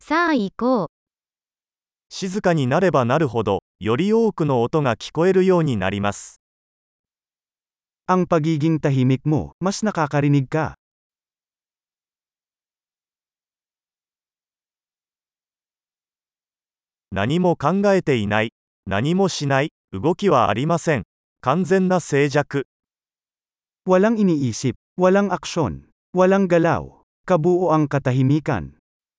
さあ行こう。 静かになればなるほど、より多くの音が聞こえるようになります。 Ang pagiging tahimik mo, mas nakakarinig ka. 何も考えていない、何もしない、動きはありません。完全な静寂。 Walang iniisip, walang aksyon, walang galaw. Kabuoang katahimikan.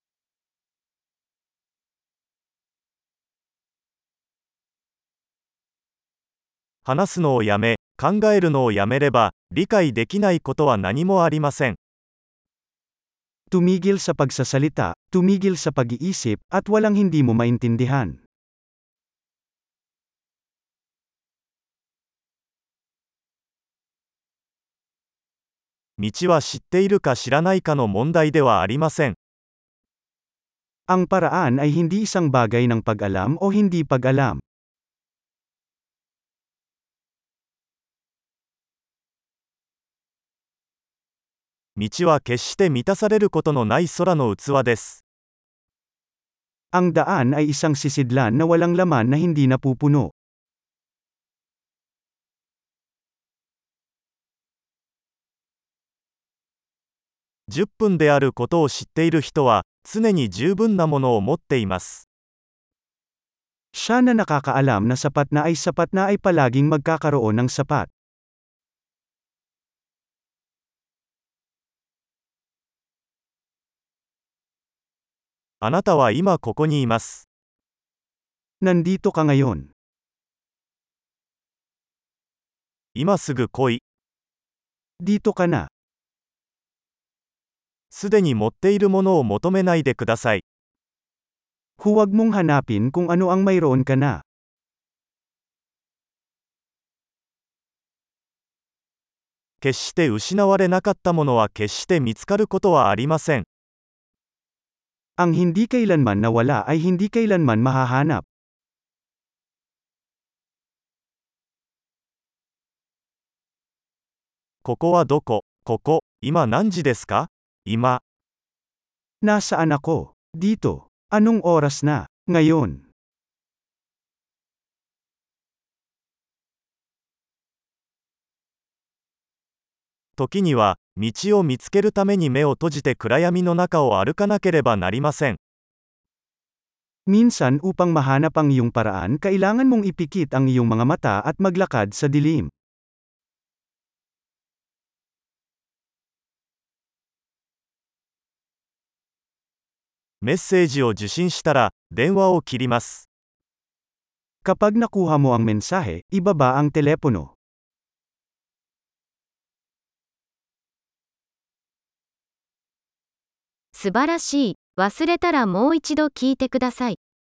話すのをやめ、考えるのをやめれば、理解できないことは何もありません。 Tumigil sa pagsasalita, tumigil sa pag-iisip, at walang hindi mo maintindihan. 道は知っているか知らないかの問題ではありません。 Ang paraan ay hindi isang bagay ng pag-alam o hindi pag-alam. 道は決して満たされることのない空の器です。 Ang daan ay isang sisidlan na walang laman na hindi napupuno. 10分であることを知っている人は、常に十分なものを持っています。 Siya na nakakaalam na sapat na ay palaging magkakaroon ng sapat. あなたは今ここにいます。 Nandito ka ngayon. 今すぐ来い。 Dito ka na. すでに持っているものを求めないでください。 Huwag mong hanapin kung ano ang mayroon ka na. 決して失われなかったものは決して見つかることはありません。 Ang hindi kailanman nawala ay hindi kailanman mahahanap. ここはどこ？ここ、今何時ですか？今。 Nasaan ako? Dito. Anong oras na? Ngayon. 時には、道を見つけるために目を閉じて暗闇の中を歩かなければなりません。 Minsan upang mahanap ang iyong paraan, kailangan mong ipikit ang iyong mga mata at maglakad sa dilim. メッセージを受信したら、電話を切ります。 Kapag nakuha mo ang mensahe, ibaba ang telepono. 素晴らしい。忘れたらもう一度聞いてください。